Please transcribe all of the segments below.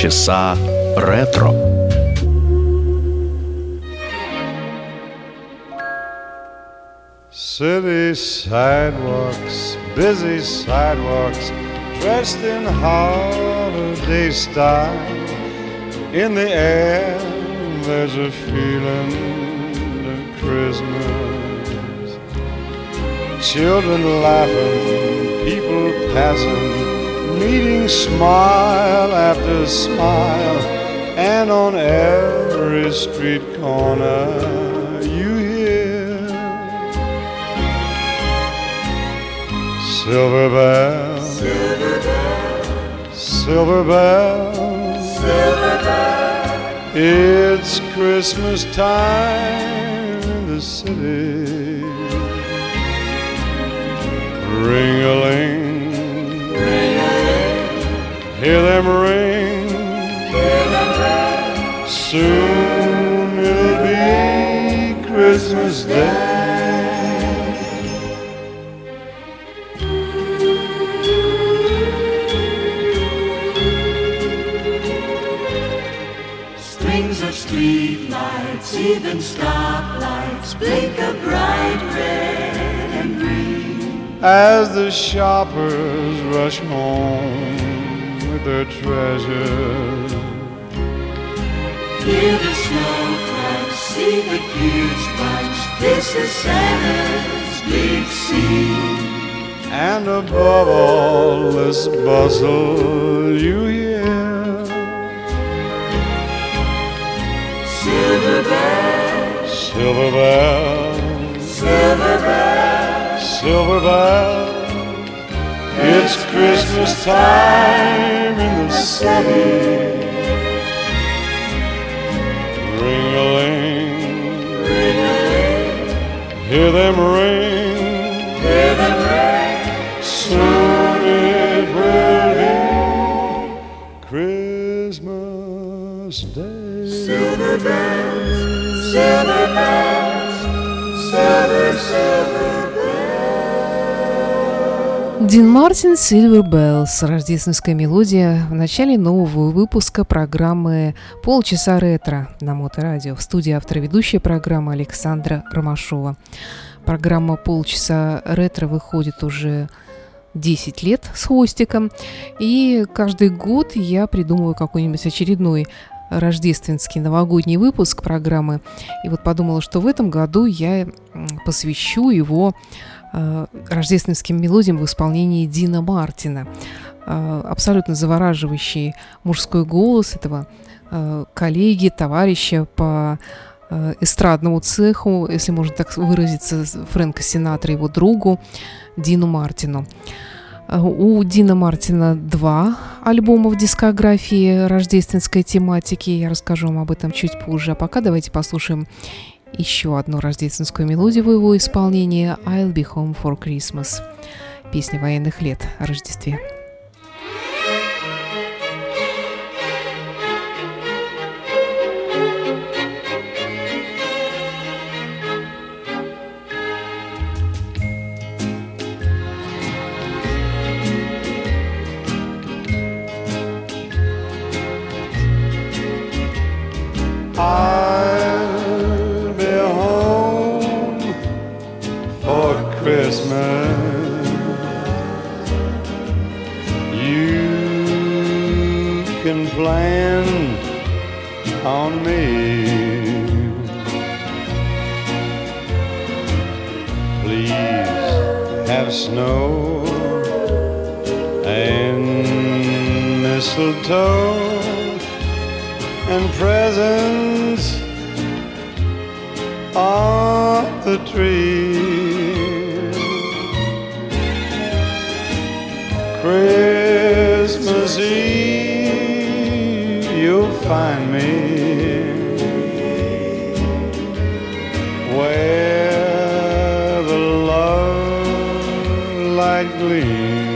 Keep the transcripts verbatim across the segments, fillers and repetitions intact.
Полчаса ретро. City sidewalks, busy sidewalks, dressed in holiday style. In the air, there's a feeling of Christmas. Children laughing, people passing, meeting smile after smile, and on every street corner you hear silver bells, silver bells, silver bells, silver bells. It's Christmas time in the city. Ring-a-ling, ring-a-ling, hear them ring, hear them ring. Soon it'll be Christmas Day. Strings of street lights, even stoplights, blink a bright red and green as the shoppers rush home with their treasures. Hear the snow crash, see the kids bunch. This is Santa's big scene. And above all this bustle you hear silver bells, silver bells, silver bells, silver bells. It's Christmas time in the city. Ring-a-ling, ring-a-ling, hear them ring, hear them ring. soon it will be Christmas Day. Silver bells, silver bells, silver, silver bells. Дин Мартин, Silver Bells, рождественская мелодия в начале нового выпуска программы «Полчаса ретро» на Моторадио. В студии автор и ведущая программы Александра Ромашова. Программа «Полчаса ретро» выходит уже десять лет с хвостиком, и каждый год я придумываю какой-нибудь очередной рождественский новогодний выпуск программы. И вот подумала, что в этом году я посвящу его э, рождественским мелодиям в исполнении Дина Мартина. Э, абсолютно завораживающий мужской голос этого э, коллеги, товарища по э, эстрадному цеху, если можно так выразиться, Фрэнка Синатра, его другу Дину Мартину. У Дина Мартина два альбома в дискографии рождественской тематики. Я расскажу вам об этом чуть позже. А пока давайте послушаем еще одну рождественскую мелодию в его исполнении «I'll be home for Christmas». Песня военных лет о Рождестве. I'll be home for Christmas. You can plan on me. Please have snow and mistletoe and presents on the tree. Christmas Eve you'll find me where the love light gleams.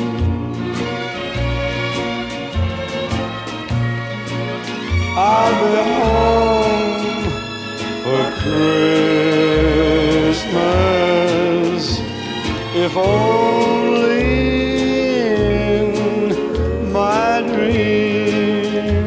I'll be home for Christmas, if only in my dreams.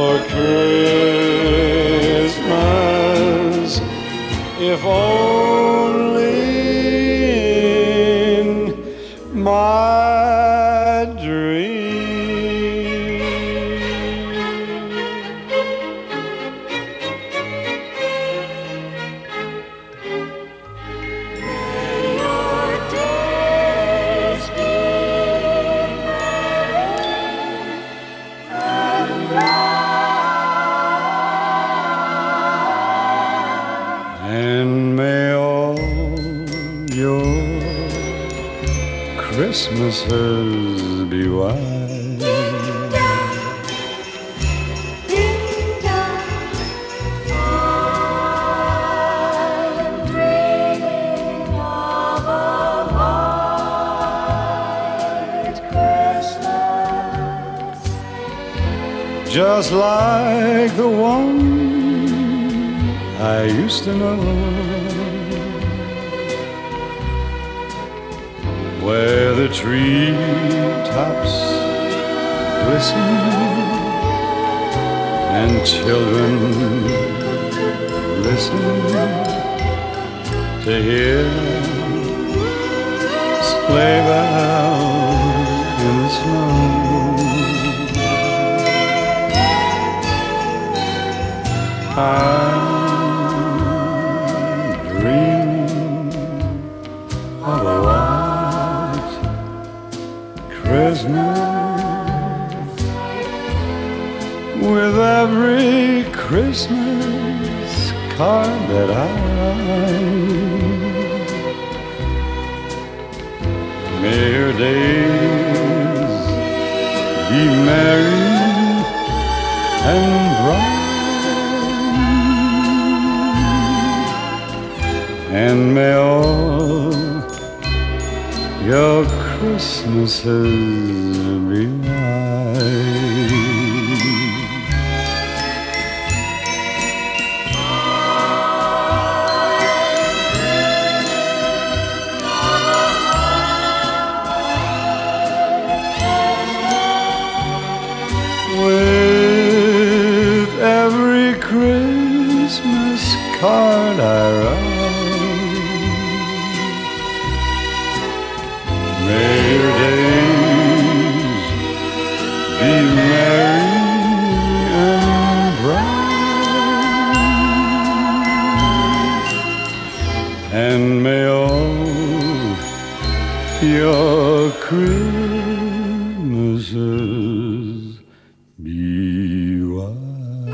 for Christmas, if only in my dream. Christmases be white. Ding dong, I'm dreaming of a white Christmas, just like the one I used to know, where the treetops glisten and children listen to hear sleigh bells in the snow. I'm dreaming of a white Christmas, with every Christmas card that I write. May your days be merry and bright, and may all your Christmases be white. With every Christmas card I write, may your days be merry and bright, and may all your Christmases be white.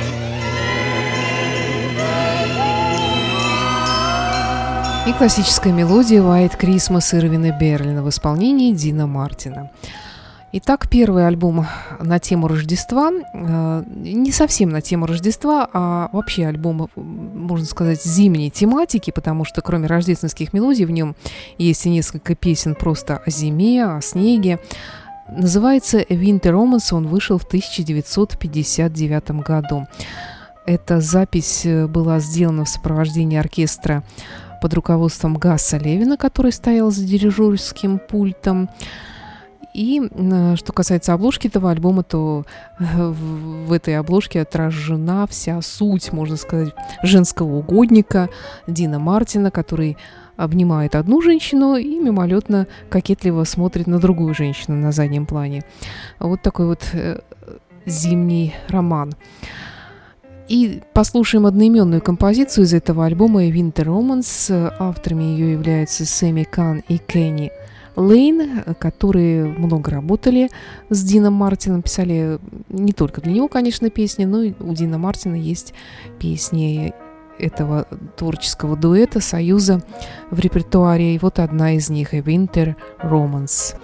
И классическая мелодия «White Christmas» Ирвина Берлина в исполнении Дина Мартина. Итак, первый альбом на тему Рождества, не совсем на тему Рождества, а вообще альбом, можно сказать, зимней тематики, потому что кроме рождественских мелодий в нем есть и несколько песен просто о зиме, о снеге. Называется «Winter Romance», он вышел в тысяча девятьсот пятьдесят девятом году. Эта запись была сделана в сопровождении оркестра под руководством Гасса Левина, который стоял за дирижерским пультом. И что касается обложки этого альбома, то в этой обложке отражена вся суть, можно сказать, женского угодника Дина Мартина, который обнимает одну женщину и мимолетно кокетливо смотрит на другую женщину на заднем плане. Вот такой вот зимний роман. И послушаем одноименную композицию из этого альбома «Winter Romance». Авторами ее являются Сэмми Кан и Кенни Лейн, которые много работали с Дином Мартином, писали не только для него, конечно, песни, но и у Дина Мартина есть песни этого творческого дуэта, союза в репертуаре. И вот одна из них — «Winter Romance».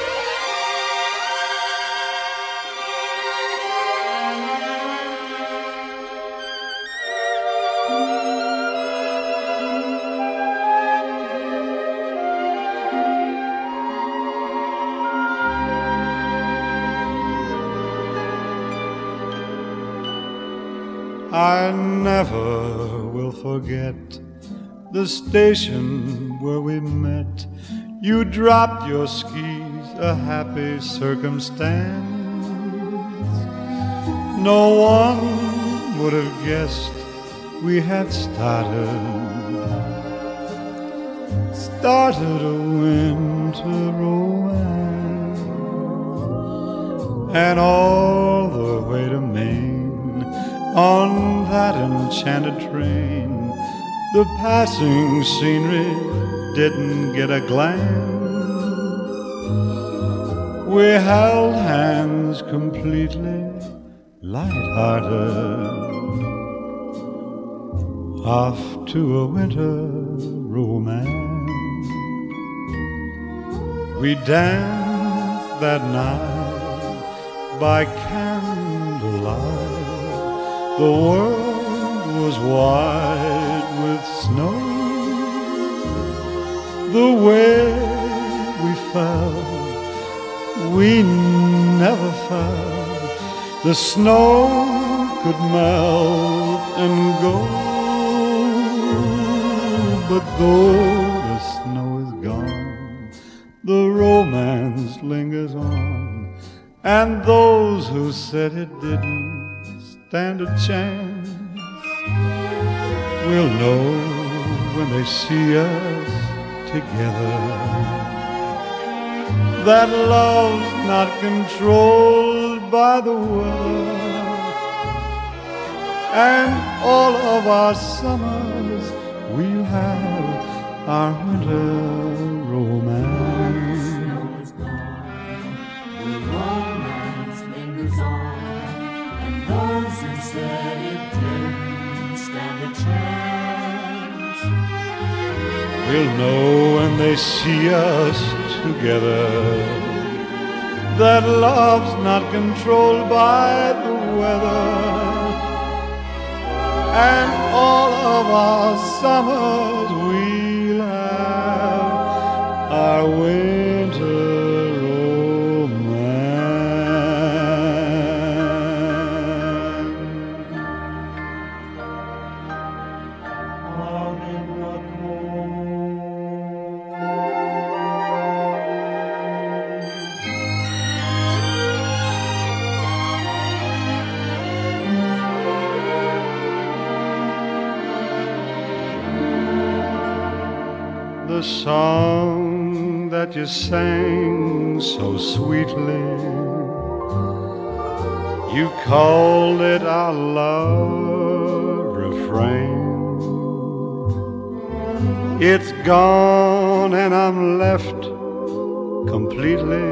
I never will forget the station where we met. You dropped your skis, a happy circumstance. no one would have guessed we had started, started a winter romance. And all the way to Maine, on that enchanted train, the passing scenery didn't get a glance. We held hands completely light-hearted, off to a winter romance. We danced that night by candlelight. The world was white with snow. The way we fell, we never felt. The snow could melt and go. But though the snow is gone, the romance lingers on. And those who said it didn't stand a chance will know when they see us together that love's not controlled by the weather. And all of our summers we'll have our winter romance. The snow is gone, the romance lingers on, and those who said it didn't stand a chance will know when they see us together that love's not controlled by the weather. And all of our summers we'll have our winter the song that you sang so sweetly, you called it our love refrain. It's gone and I'm left completely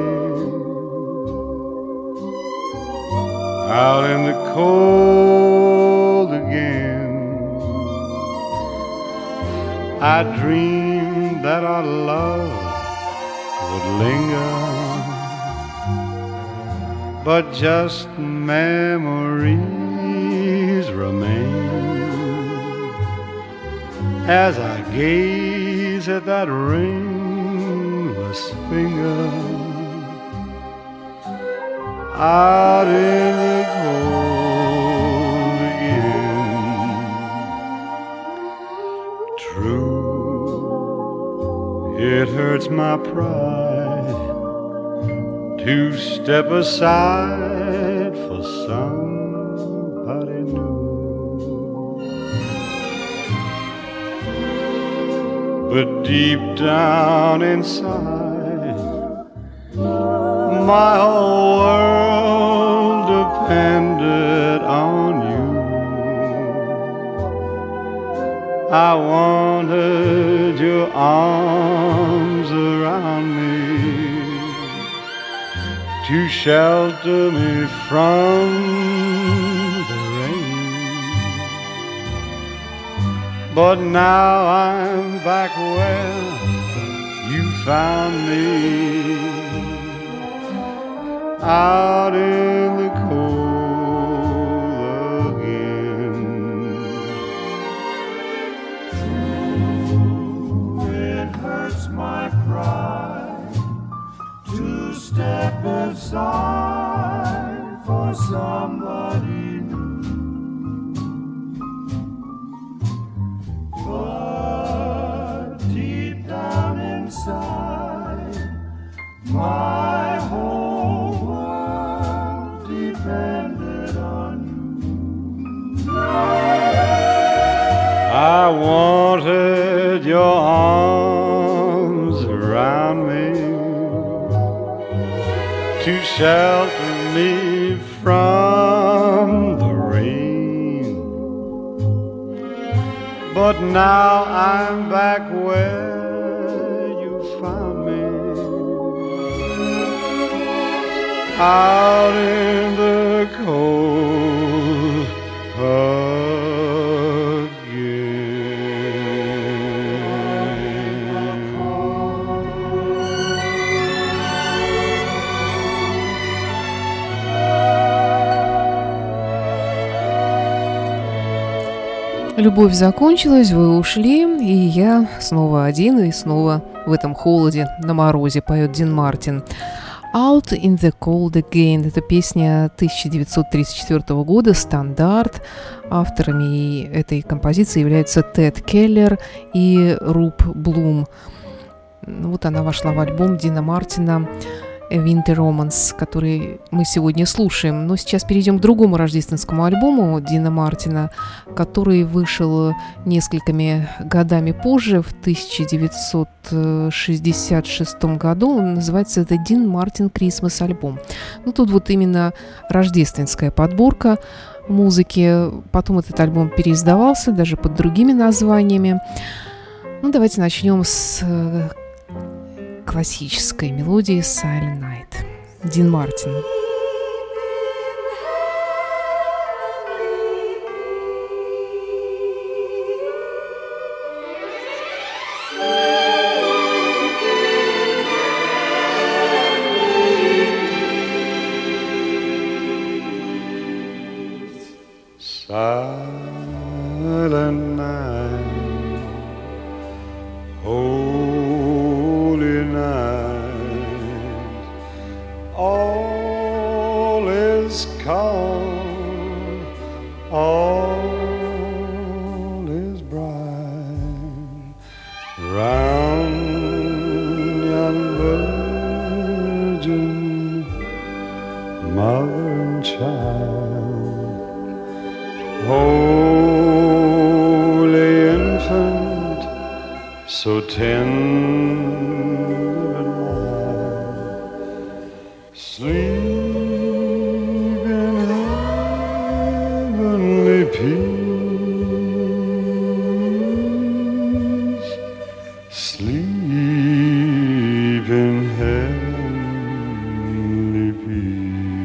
out in the cold again. I dreamed that our love would linger, but just memories remain as I gaze at that ringless finger out in the cold again. True, it hurts my pride to step aside for somebody new, but deep down inside, my whole world depended on you. I wanted your arms around me to shelter me from the rain. But now I'm back where you found me, out in the cold again. It hurts my pride to step aside for somebody new, but deep down inside, my whole world depends landed on you. I wanted your arms around me to shelter me from the rain, but now I'm back where you found me, out in the cold again. Любовь закончилась, вы ушли, и я снова один, и снова в этом холоде, на морозе, поет Дин Мартин. Out in the Cold Again. Это песня тысяча девятьсот тридцать четвёртого года, стандарт. Авторами этой композиции являются Тед Келлер и Руб Блум. Вот она вошла в альбом Дина Мартина Winter Romance, который мы сегодня слушаем. Но сейчас перейдем к другому рождественскому альбому Дина Мартина, который вышел несколькими годами позже, в тысяча девятьсот шестьдесят шестом году. Он называется это Дин Мартин Christmas альбом. Ну, тут вот именно рождественская подборка музыки. Потом этот альбом переиздавался даже под другими названиями. Ну, давайте начнем с классической мелодии Silent Night. Дин Мартин. Silent night, holy night, all is calm, all is bright, round yon virgin, mother and child, holy infant, so tender and mild, sleep in heavenly peace, sleep in heavenly peace.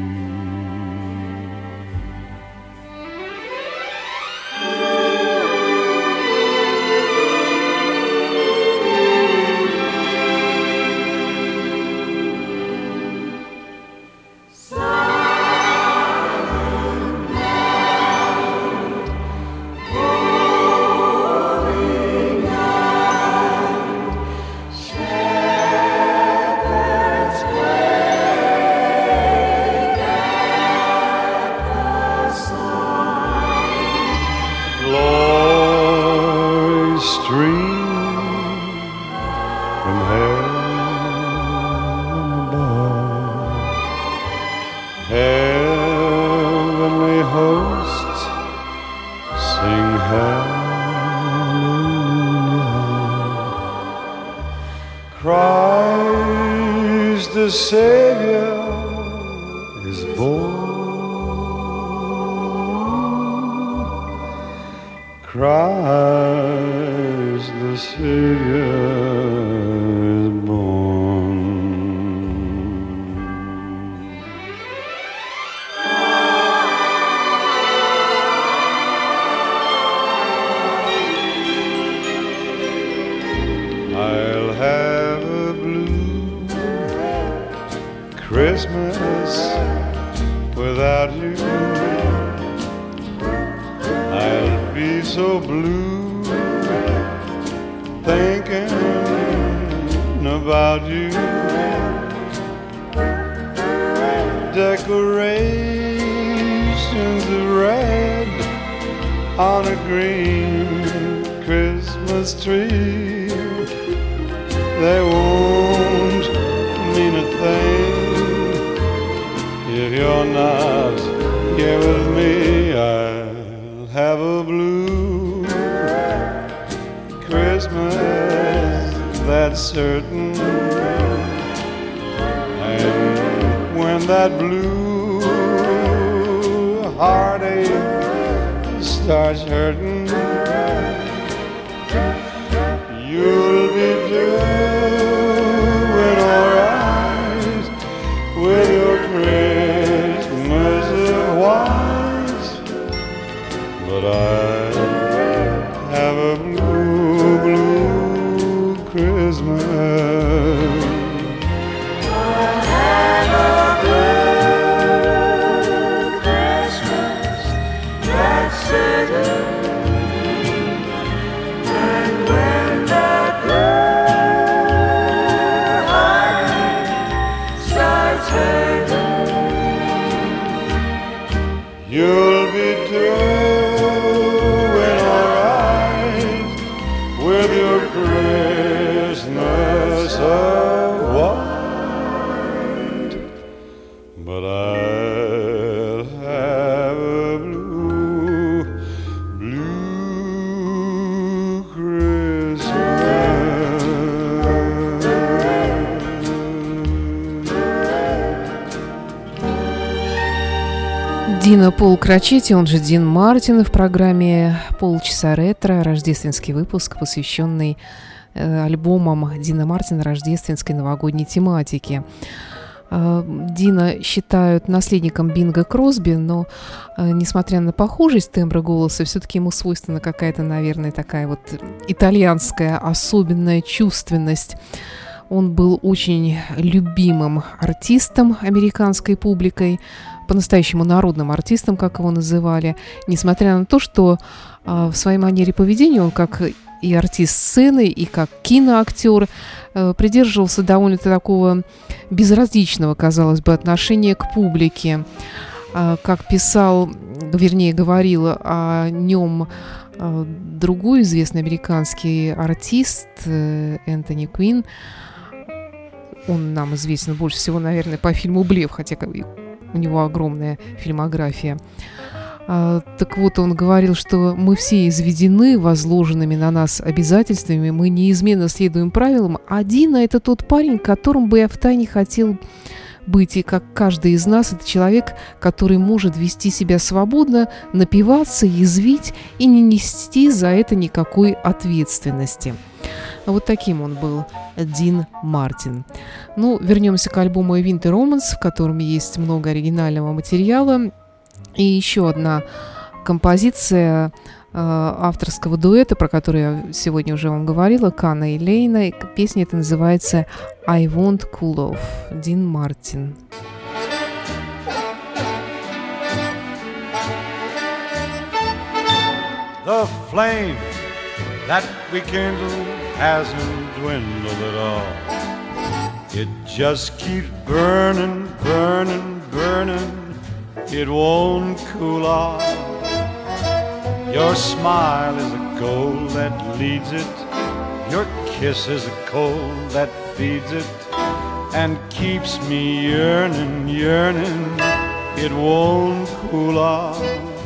Christ the Savior is born. Christ the Savior is born. I'll have a blue Christmas without you. I'll be so blue thinking about you. Decorations of red on a green Christmas tree, they won't mean a thing if you're not here with me, I'll have a blue Christmas, that's certain. And when that blue heartache starts hurting, you'll be doing alright with your Christmas wise. But I have a blue, blue Christmas. I have a blue Christmas, that's certain. And when that blue heartache starts hurting, You'll be doing alright with your Christmas of white. But I'll have a blue, blue Christmas. Дина Пол Крачетти, он же Дин Мартин, в программе «Полчаса ретро», рождественский выпуск, посвященный э, альбомам Дина Мартина рождественской новогодней тематики. Э, Дина считают наследником Бинга Кросби, но, э, несмотря на похожесть тембра голоса, все-таки ему свойственна какая-то, наверное, такая вот итальянская особенная чувственность. Он был очень любимым артистом американской публикой, по-настоящему народным артистом, как его называли, несмотря на то, что э, в своей манере поведения он, как и артист сцены, и как киноактер, э, придерживался довольно такого безразличного, казалось бы, отношения к публике. Э, как писал, вернее, говорил о нем э, другой известный американский артист э, Энтони Куин. Он нам известен больше всего, наверное, по фильму «Блеф», хотя у него огромная фильмография. А, так вот, он говорил, что мы все изведены возложенными на нас обязательствами, мы неизменно следуем правилам, а Дина – это тот парень, которым бы я втайне хотел быть, и как каждый из нас, это человек, который может вести себя свободно, напиваться, язвить и не нести за это никакой ответственности. Вот таким он был, Дин Мартин. Ну, вернемся к альбому «A Winter Romance», в котором есть много оригинального материала. И еще одна композиция э, авторского дуэта, про который я сегодня уже вам говорила, Кана и Лейна. Песня эта называется «I Want Cool Off», Дин Мартин. The flame that we kindled hasn't dwindled at all. It just keeps burning, burning, burning. It won't cool off. Your smile is a goal that leads it. Your kiss is a coal that feeds it and keeps me yearning, yearning. It won't cool off.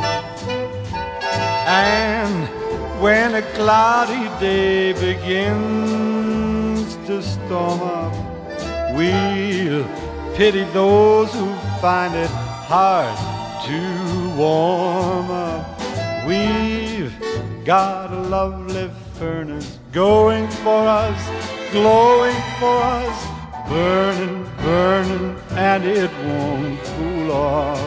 And when a cloudy day begins to storm up, we'll pity those who find it hard to warm up. We've got a lovely furnace going for us, glowing for us, burning, burning, and it won't cool off.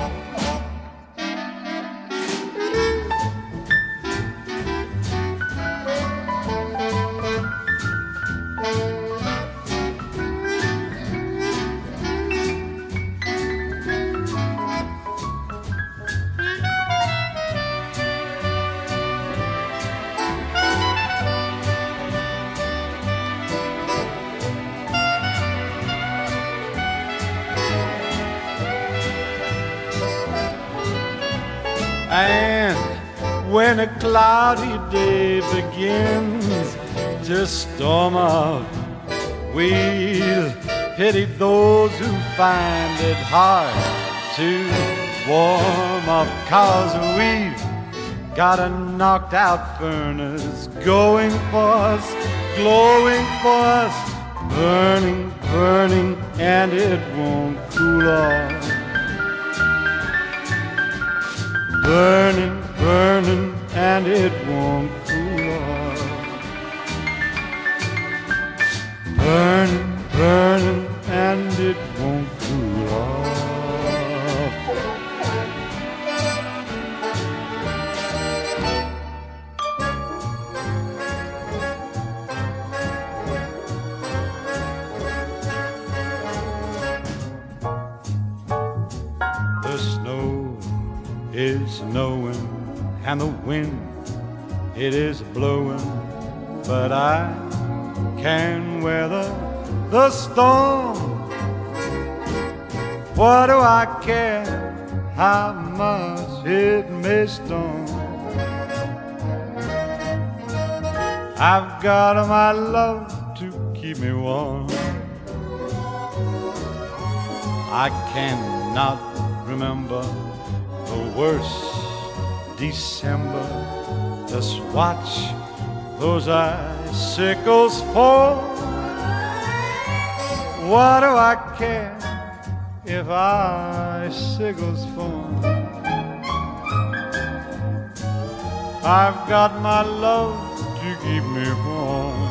And when a cloudy day begins to storm up, we'll pity those who find it hard to warm up, 'cause we've got a knocked out furnace going for us, glowing for us, burning, burning, and it won't cool off. Burning, burning, and it won't cool off. Burning, burning, and it won't cool off. The snow is snowing and the wind, it is blowing, but I can weather the storm. What do I care how much it may storm? I've got my love to keep me warm. I cannot remember the worst December. Just watch those icicles fall. What do I care if icicles fall? I've got my love to keep me warm.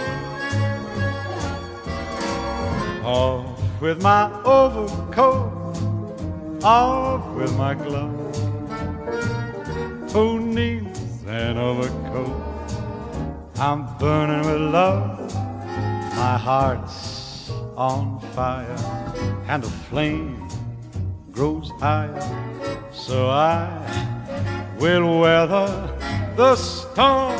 Off with my overcoat, off with my gloves. Who needs an overcoat? I'm burning with love. My heart's on fire, and the flame grows higher. So I will weather the storm.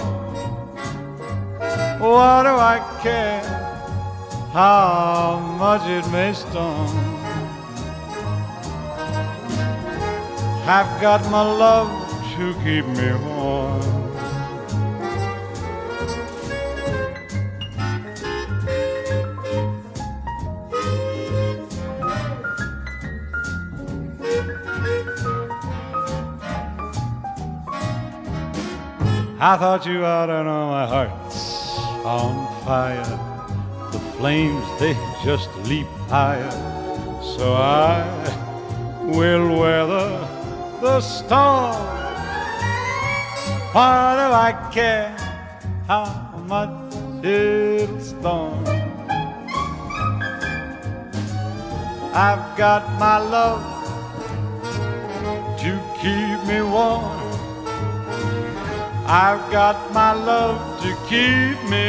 What do I care how much it may storm? I've got my love to keep me warm. I thought you ought to know my heart's on fire. The flames, they just leap higher. So I will weather the storm. Why do I care how much it'll storm? I've got my love to keep me warm. I've got my love to keep me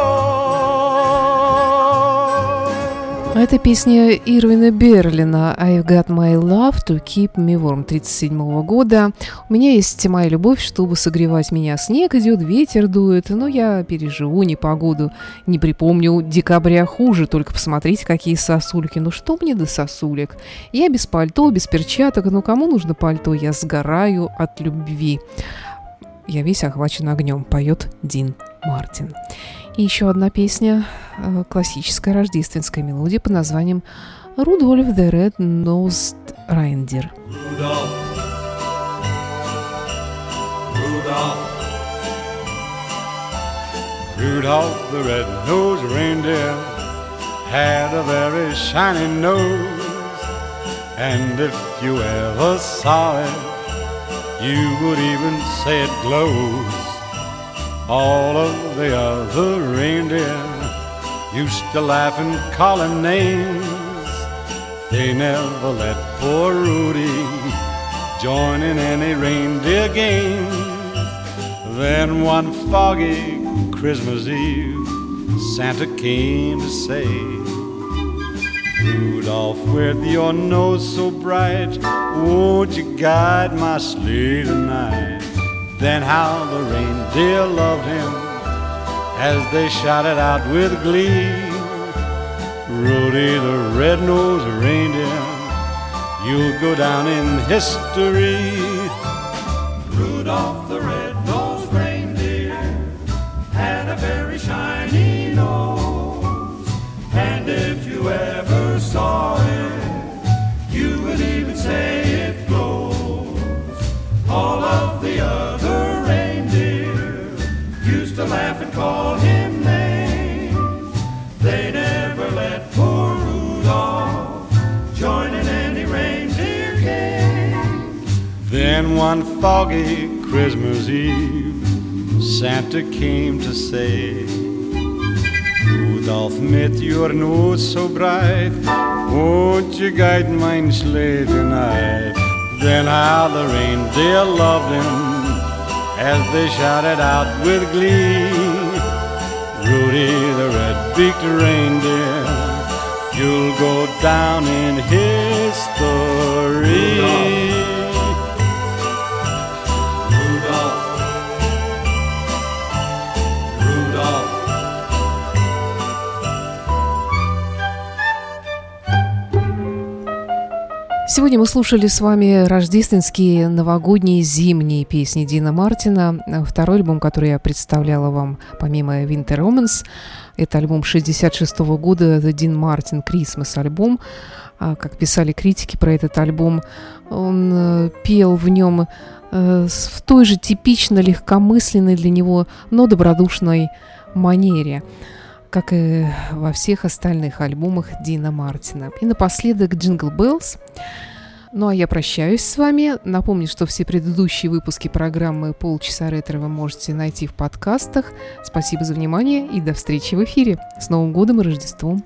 warm. Это песня Ирвина Берлина «I've got my love to keep me warm» тридцать седьмого года. У меня есть моя любовь, чтобы согревать меня. Снег идет, ветер дует, но я переживу непогоду. Не припомню декабря хуже, только посмотрите, какие сосульки. Ну что мне до сосулек? Я без пальто, без перчаток, но кому нужно пальто? Я сгораю от любви. Я весь охвачен огнем, поет Дин Мартин. И еще одна песня, классическая рождественская мелодия под названием «Rudolph the Red-Nosed Reindeer». Rudolph, Rudolph, Rudolph the red-nosed reindeer had a very shiny nose, and if you ever saw it, you would even say it glows. All of the other reindeer used to laugh and call him names. They never let poor Rudy join in any reindeer games. Then one foggy Christmas Eve, Santa came to say, Rudolph, with your nose so bright, won't you guide my sleigh tonight? Then how the reindeer loved him as they shouted out with glee, Rudy the red-nosed reindeer, you'll go down in history. Rudolph the red-nosed reindeer had a very shiny nose, and if you ever saw it, you would even say it glows. Then one foggy Christmas Eve, Santa came to say, Rudolph, mit your nose so bright, won't you guide my sleigh tonight? Then how the reindeer loved him as they shouted out with glee, Rudy the red-beaked reindeer, you'll go down in history. Rudolph, Rudolph, Rudolph. Сегодня мы слушали с вами рождественские, новогодние, зимние песни Дина Мартина. Второй альбом, который я представляла вам, помимо Winter Romance, это альбом шестьдесят шестого года, The Dean Martin Christmas альбом. Как писали критики про этот альбом, он пел в нем в той же типично легкомысленной для него, но добродушной манере, как и во всех остальных альбомах Дина Мартина. И напоследок Jingle Bells. Ну а я прощаюсь с вами. Напомню, что все предыдущие выпуски программы «Полчаса ретро» вы можете найти в подкастах. Спасибо за внимание и до встречи в эфире. С Новым годом и Рождеством!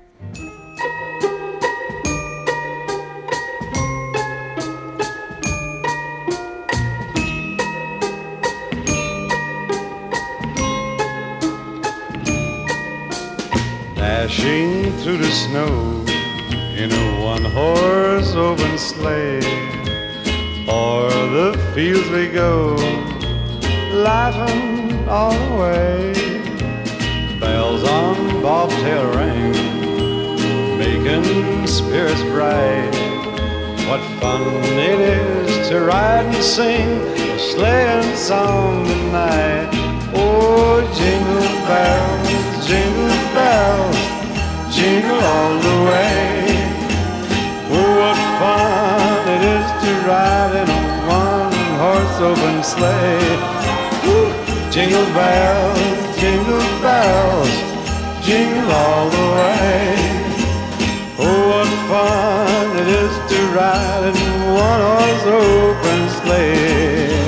Dashing through the snow in a one-horse open sleigh, o'er the fields we go, laughing all the way. Bells on bobtail ring, making spirits bright. What fun it is to ride and sing a sleighing song tonight. Oh, jingle bells, jingle bells, jingle all the way. Oh, what fun it is to ride in a one-horse open sleigh. Woo! Jingle bells, jingle bells, jingle all the way. Oh, what fun it is to ride in a one-horse open sleigh.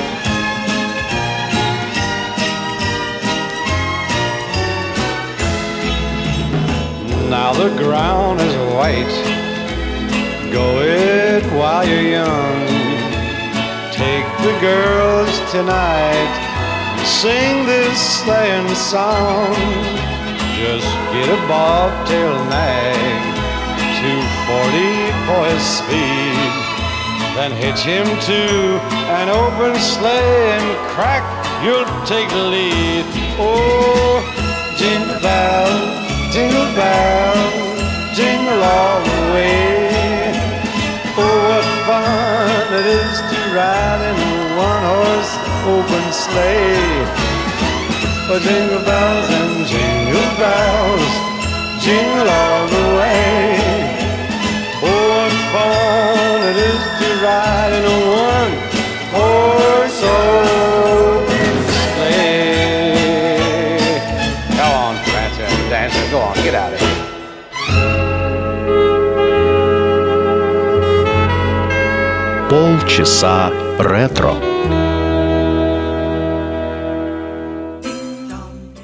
Now the ground is white, go it while you're young. Take the girls tonight, sing this sleighing song. Just get a bobtail nag, two forty for his speed, then hitch him to an open sleigh and crack, you'll take the lead. Oh, jingle bells, jingle bells, jingle all the way. Oh, what fun it is to ride in a one-horse open sleigh. Oh, jingle bells and jingle bells, jingle all the way. Oh, what fun it is to ride in a one-horse open sleigh. Come on, Prancer and Dancer, go on, get out of here. Полчаса ретро.